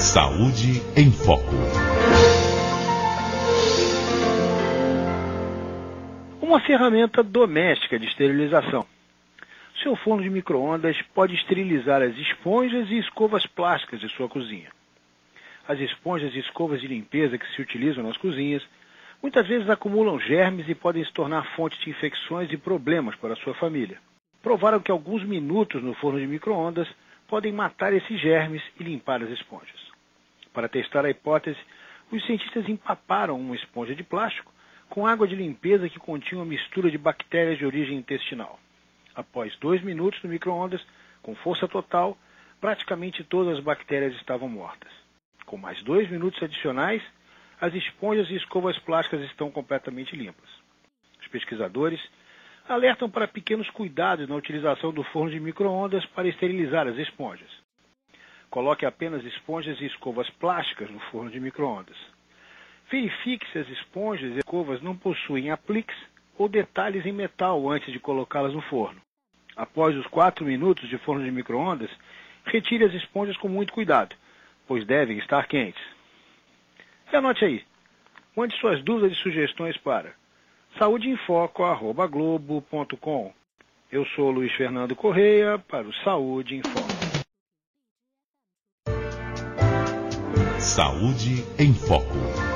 Saúde em Foco. Uma ferramenta doméstica de esterilização. Seu forno de micro-ondas pode esterilizar as esponjas e escovas plásticas de sua cozinha. As esponjas e escovas de limpeza que se utilizam nas cozinhas muitas vezes acumulam germes e podem se tornar fonte de infecções e problemas para a sua família. Provaram que alguns minutos no forno de micro-ondas podem matar esses germes e limpar as esponjas. Para testar a hipótese, os cientistas empaparam uma esponja de plástico com água de limpeza que continha uma mistura de bactérias de origem intestinal. Após 2 minutos no micro-ondas, com força total, praticamente todas as bactérias estavam mortas. Com mais 2 minutos adicionais, as esponjas e escovas plásticas estão completamente limpas. Os pesquisadores alertam para pequenos cuidados na utilização do forno de micro-ondas para esterilizar as esponjas. Coloque apenas esponjas e escovas plásticas no forno de micro-ondas. Verifique se as esponjas e escovas não possuem apliques ou detalhes em metal antes de colocá-las no forno. Após os 4 minutos de forno de micro-ondas, retire as esponjas com muito cuidado, pois devem estar quentes. E anote aí, mande suas dúvidas e sugestões para saudeinfoco@globo.com. Eu sou Luiz Fernando Correia para o Saúde em Foco. Saúde em Foco.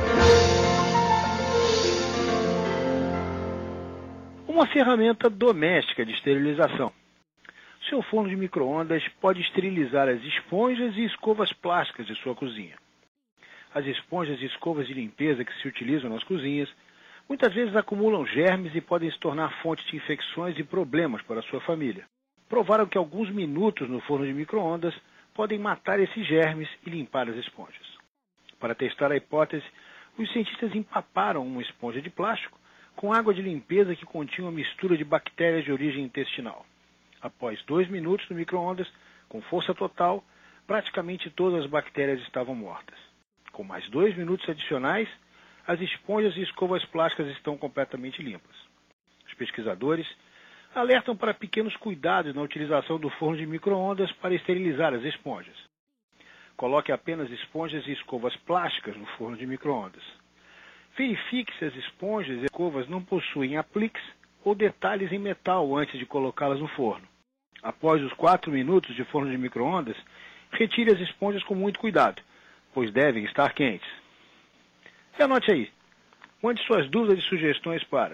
Uma ferramenta doméstica de esterilização. Seu forno de micro-ondas pode esterilizar as esponjas e escovas plásticas de sua cozinha. As esponjas e escovas de limpeza que se utilizam nas cozinhas muitas vezes acumulam germes e podem se tornar fonte de infecções e problemas para a sua família. Provaram que alguns minutos no forno de micro-ondas podem matar esses germes e limpar as esponjas. Para testar a hipótese, os cientistas empaparam uma esponja de plástico com água de limpeza que continha uma mistura de bactérias de origem intestinal. Após 2 minutos no micro-ondas, com força total, praticamente todas as bactérias estavam mortas. Com mais 2 minutos adicionais, as esponjas e escovas plásticas estão completamente limpas. Os pesquisadores alertam para pequenos cuidados na utilização do forno de micro-ondas para esterilizar as esponjas. Coloque apenas esponjas e escovas plásticas no forno de micro-ondas. Verifique se as esponjas e escovas não possuem apliques ou detalhes em metal antes de colocá-las no forno. Após os 4 minutos de forno de micro-ondas, retire as esponjas com muito cuidado, pois devem estar quentes. E anote aí, mande suas dúvidas e sugestões para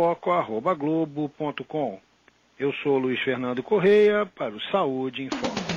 saudeinfoco@globo.com. Eu sou Luiz Fernando Correia para o Saúde em Foco.